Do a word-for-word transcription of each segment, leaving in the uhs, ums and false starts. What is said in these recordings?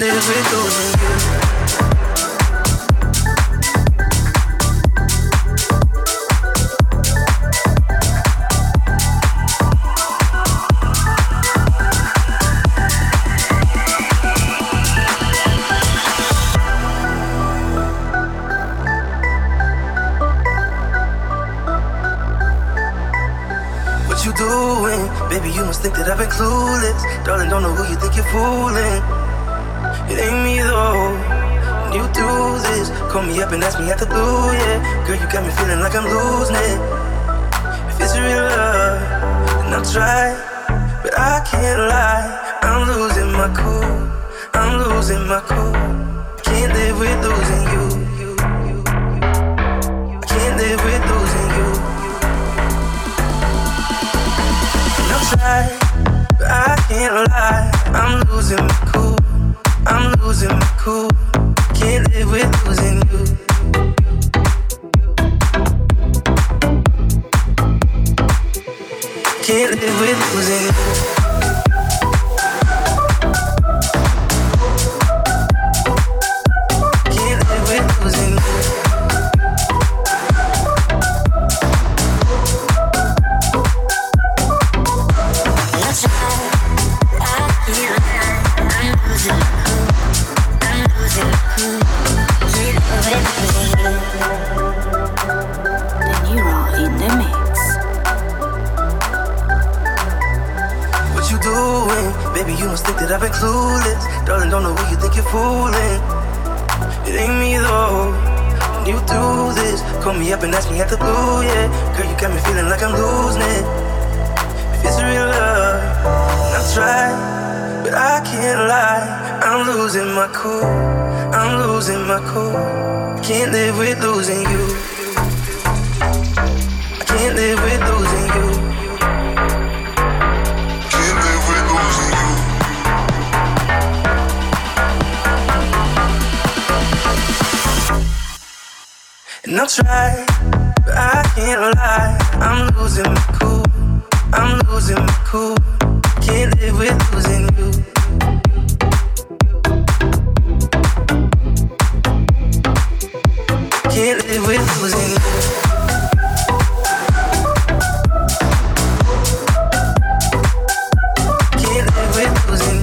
live with losing you. Baby, you must think that I've been clueless. Darling, don't know who you think you're fooling. It ain't me though. When you do this, call me up and ask me out the blue, yeah. Girl, you got me feeling like I'm losing it. If it's real love, then I'll try. But I can't lie, I'm losing my cool. I'm losing my cool. I can't live with losing you. I can't live with losing you. Try, but I can't lie. I'm losing my cool. I'm losing my cool. Can't live with losing you. Can't live with losing you. Can't live with losing you. Think that I've been clueless. Darling, don't know who you think you're fooling. It ain't me though. When you do this, call me up and ask me at the blue, yeah. Girl, you got me feeling like I'm losing it. If it's real love, then I'll try. But I can't lie, I'm losing my cool. I'm losing my cool. Can't live with losing you. I can't live with losing you. And I'll try, but I can't lie. I'm losing my cool. I'm losing my cool. Can't live with losing you. Can't live with losing you. Can't live with losing you.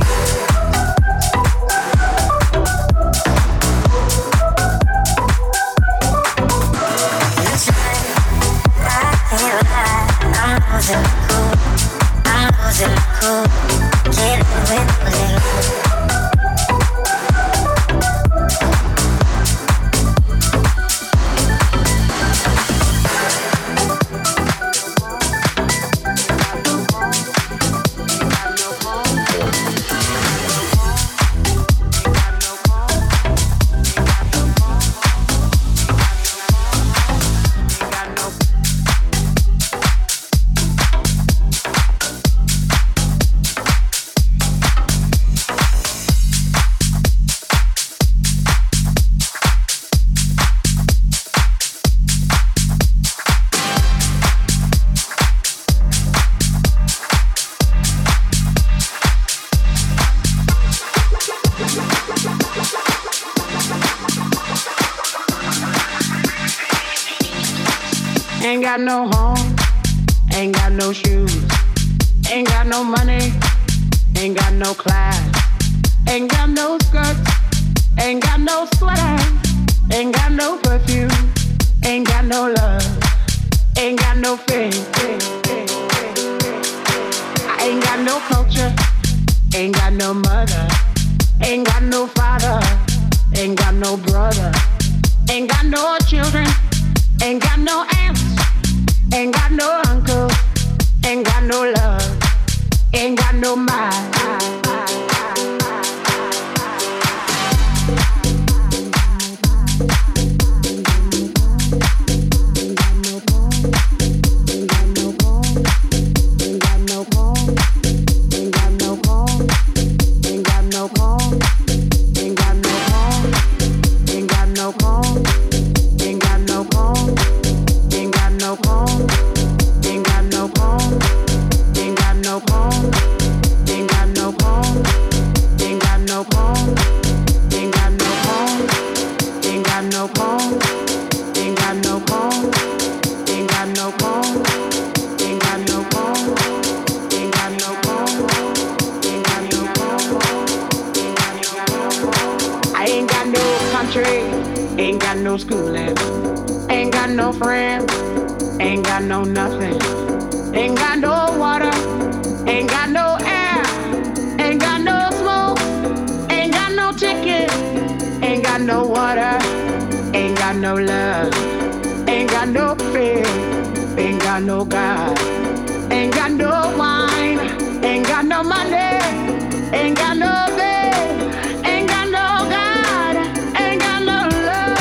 Ain't got no home, ain't got no shoes, ain't got no money, ain't got no class, ain't got no skirts, ain't got no sweater, ain't got no perfume, ain't got no love, ain't got no faith. I ain't got no culture, ain't got no mother, ain't got no father, ain't got no brother, ain't got no children, ain't got no aunts, ain't got no uncle, ain't got no love, ain't got no mind. Ain't got no got no schooling, ain't got no friends, ain't got no nothing, ain't got no water, ain't got no air, ain't got no smoke, ain't got no ticket, ain't got no water, ain't got no love, ain't got no faith, ain't got no God, ain't got no wine, ain't got no money, ain't got no bed, ain't got no God, ain't got no love.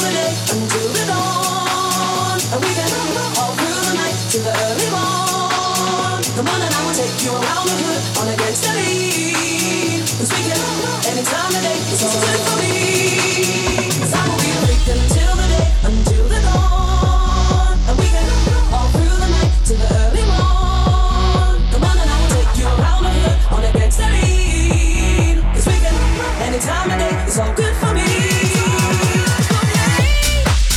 the day until the dawn. And we can all through the night till the early morn. Come on and I will take you around the hood on a gangsta lead. Cause we can any time of day, it's all good for me. Cause I will be freaking until the day, until the dawn. And we can all through the night till the early morn. Come on and I will take you around the hood on a gangsta lead. Cause we can any time of day, it's all good for me.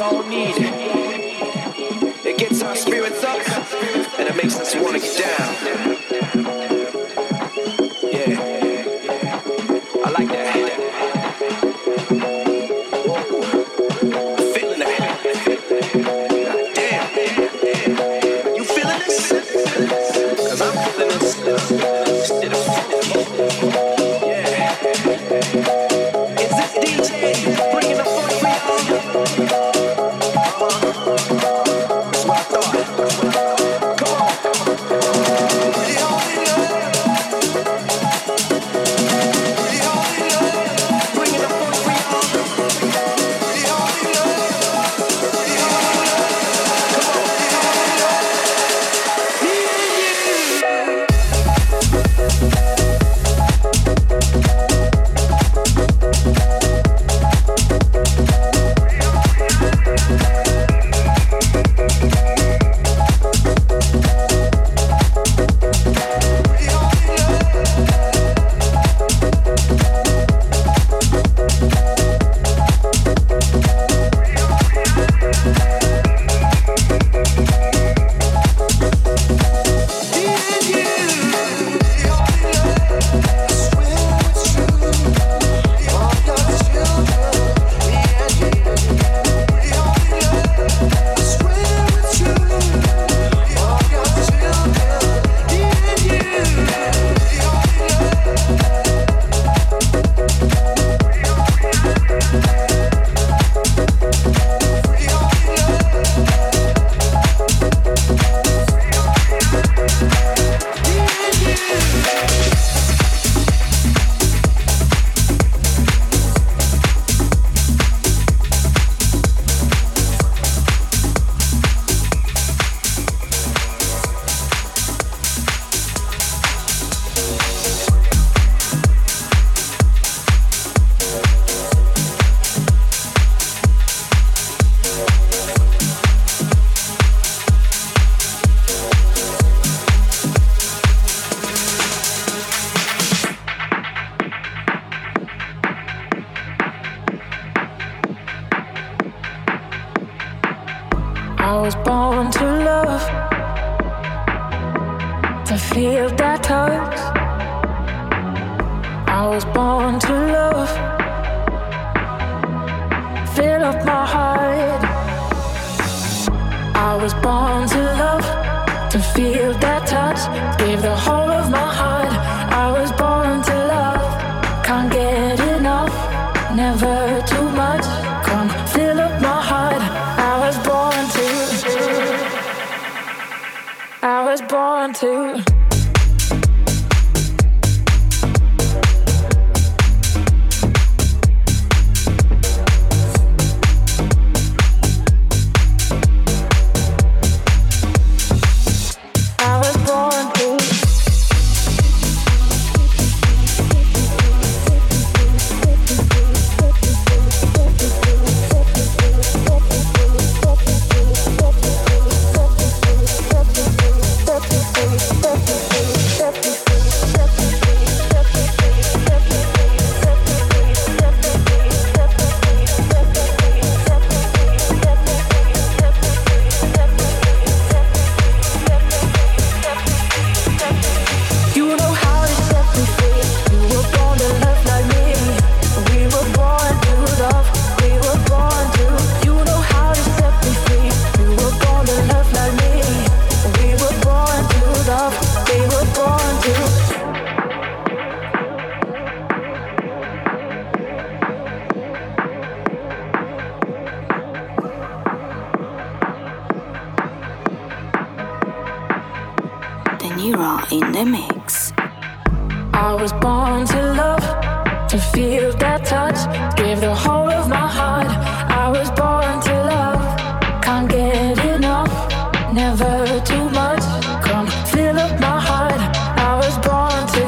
all need. It gets our spirits up and it makes us want to get down. Yeah, I like that. I'm feeling that. Damn, you feeling this? Cause I'm feeling this. Instead of funky. Yeah. Is this D J bringing the funk for y'all? That's what I thought. Come on. Pretty holy love. Pretty holy love. Bringing the funk for y'all. Pretty holy love. Pretty holy love. Come on. Pretty holy love. Me and you. I was born to love, to feel that touch. I was born to love, fill up my heart. I was born to love, to feel that touch, give the whole of my heart. I was born to love, can't get enough, never too much. Come fill up my heart. I was born to, I was born to. In the mix. I was born to love, to feel that touch, give the whole of my heart. I was born to love, can't get enough, never too much. Come fill up my heart. I was born to.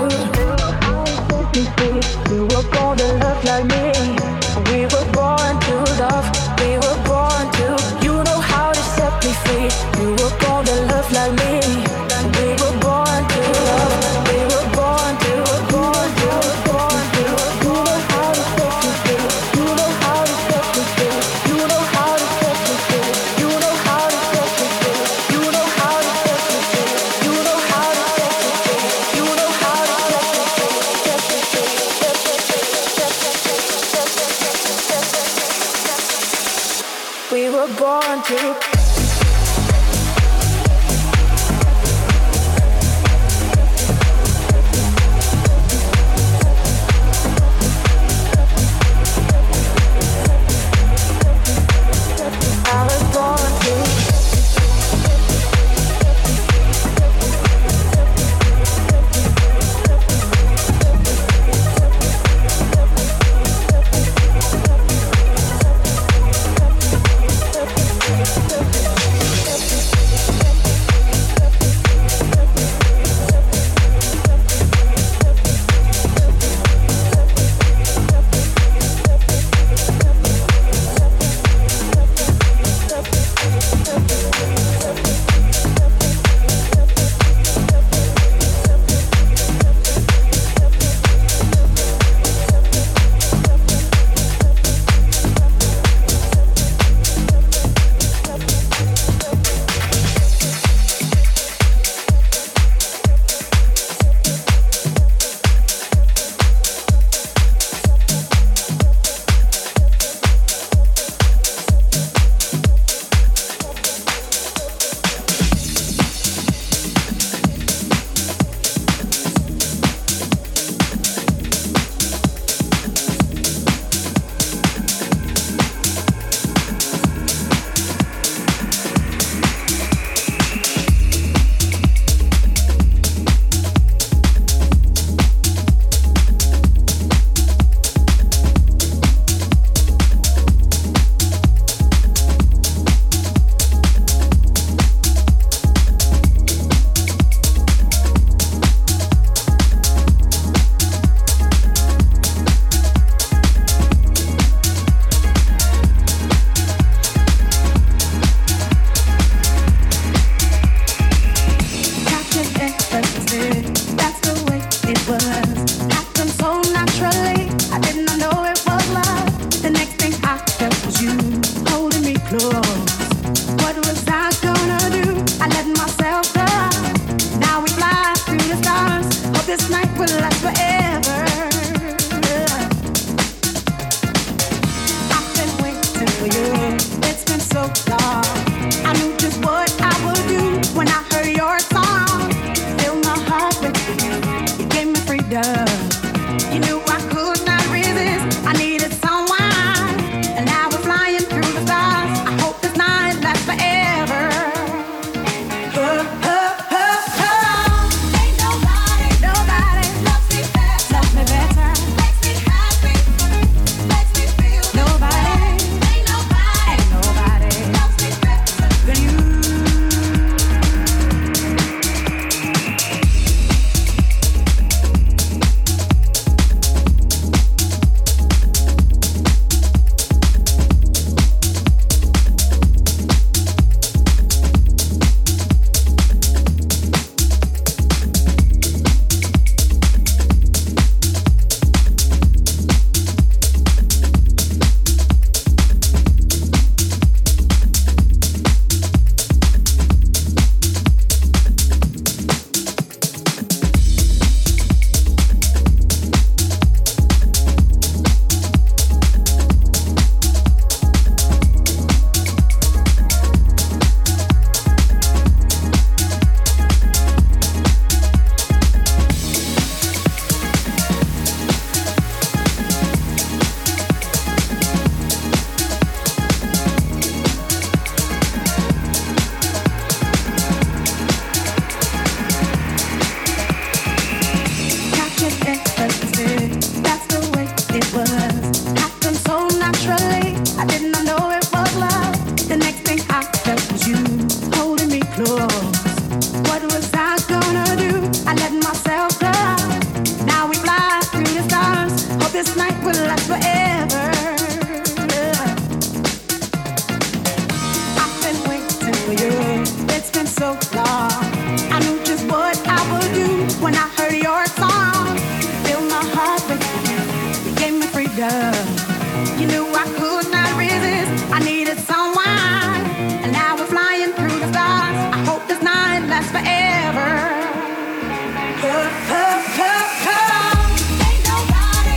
You were born to love like me. We were born to love. We were born to. You know how to set me free. You were born to love like me. We were born to love. We were born to, born to, born to. You know how to set me free. born to.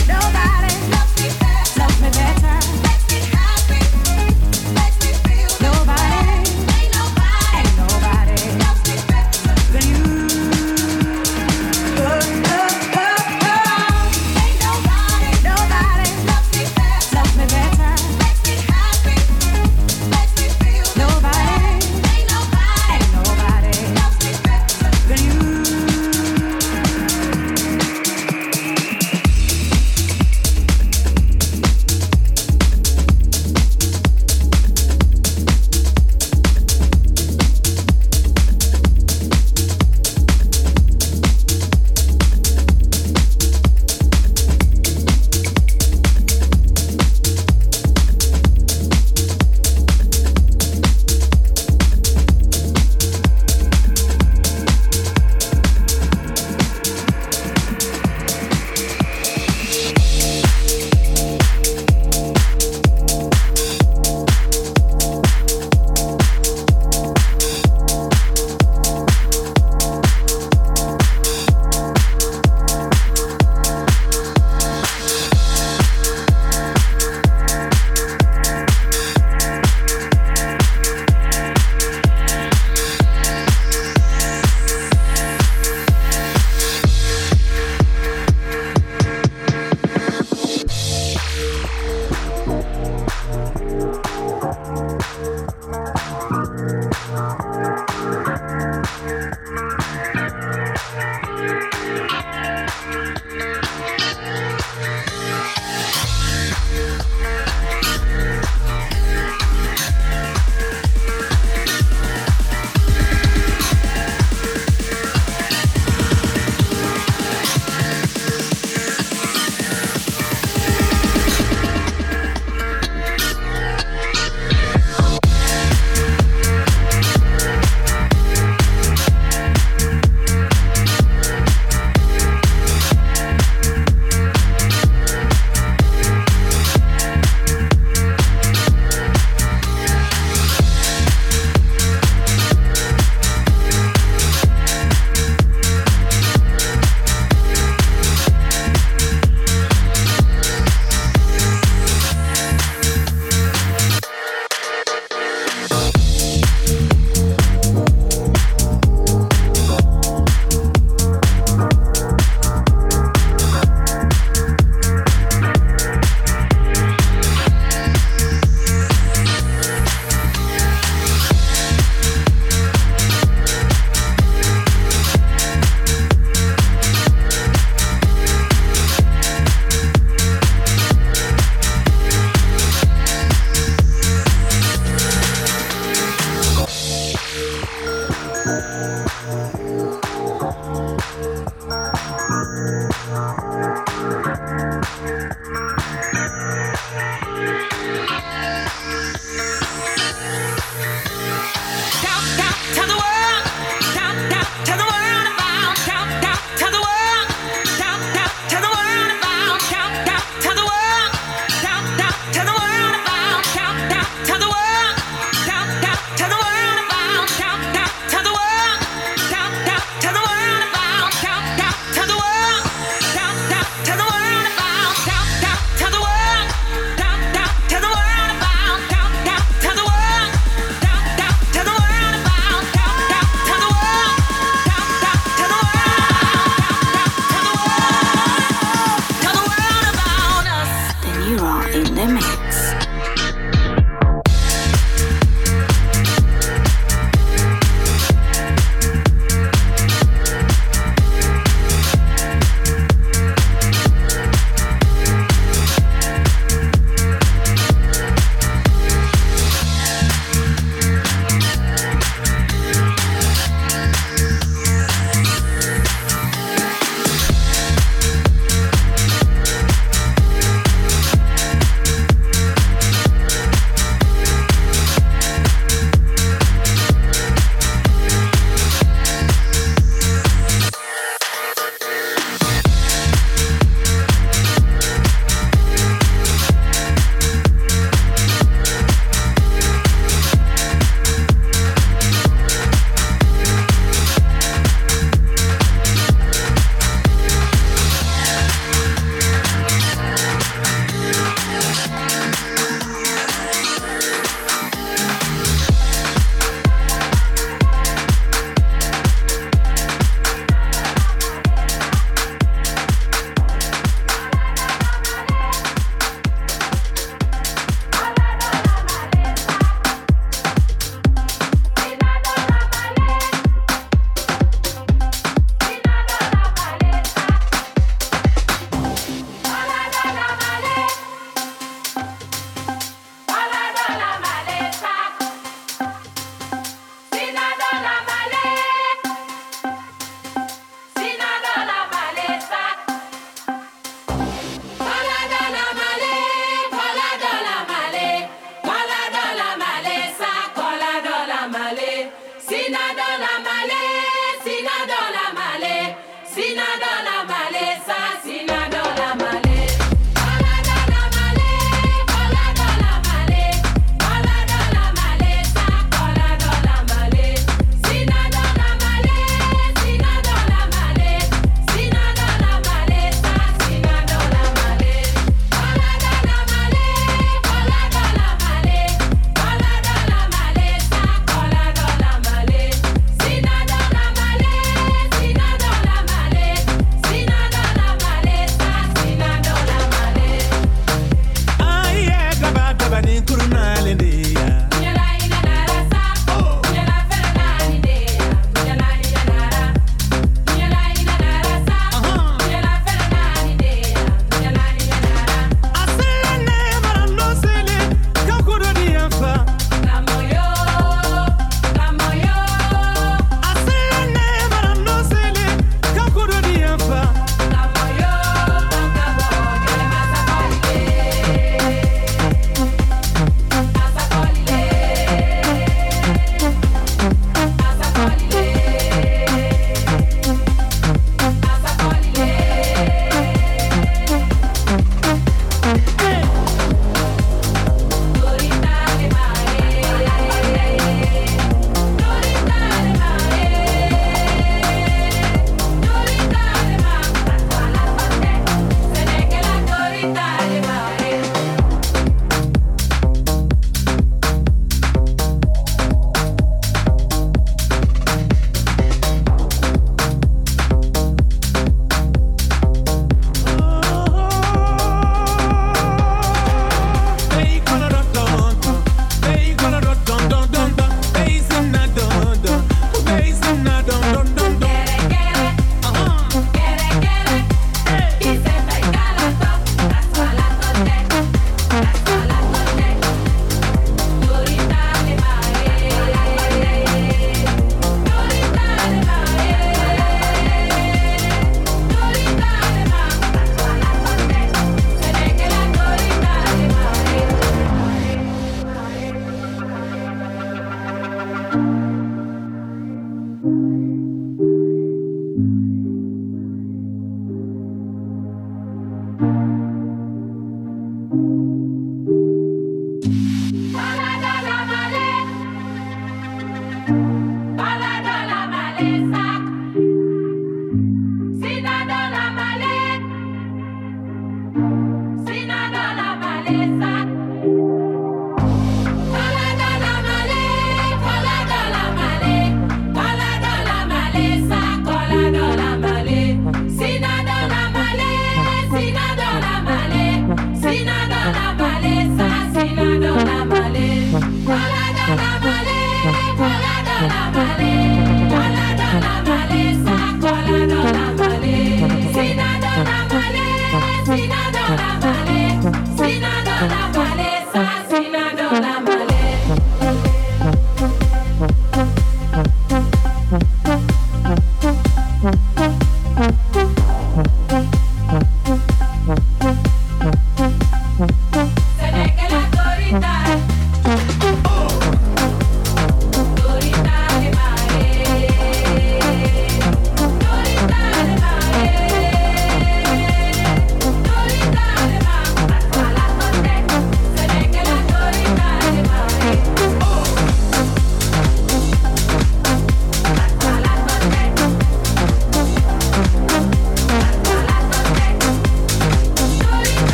Nobody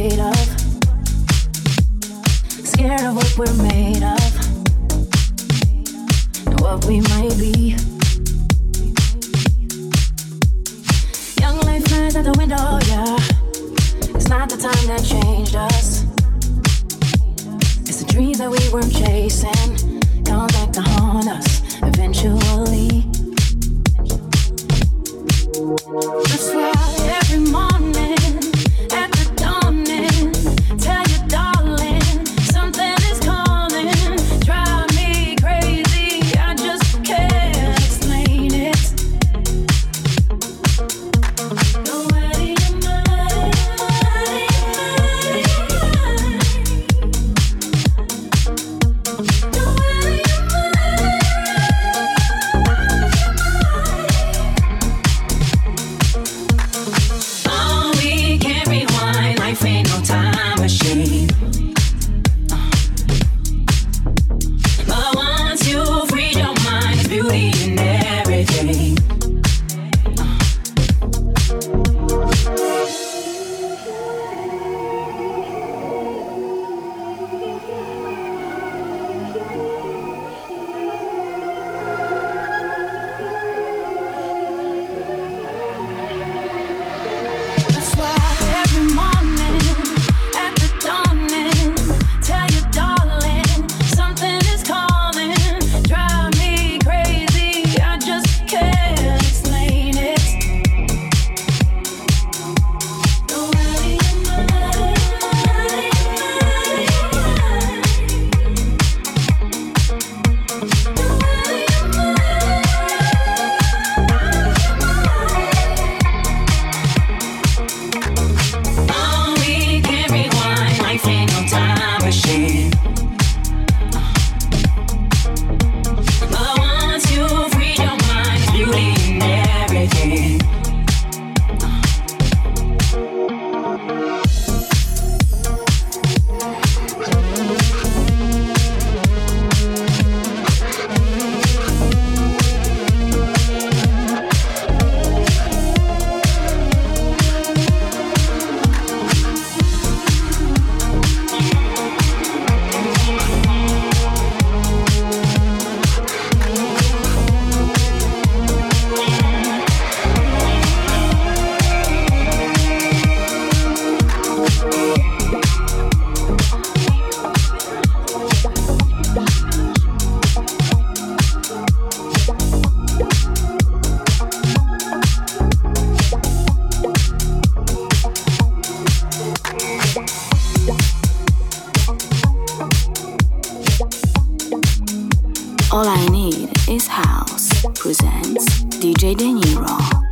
afraid of, scared of what we're made of, and what we might be. Young life flies out the window, yeah. It's not the time that changed us. It's the dreams that we weren't chasing come back to haunt us eventually. That's why every morning at the dawning, tell you darling, something is calling. Drive me crazy, I just can't explain it. Go out of your mind, go out of your mind. Oh, we can't rewind, life ain't no time machine. Uh. But once you free your mind, there's beauty in everything. That's why every morning at the dawning, tell you darling, something is calling. Drive me crazy, I just can't explain it. Go out of your mind, go out of your mind. Oh, we can't rewind, life ain't no time machine. But once you free your mind, there's beauty in everything. All I Need is House presents D J De Niro.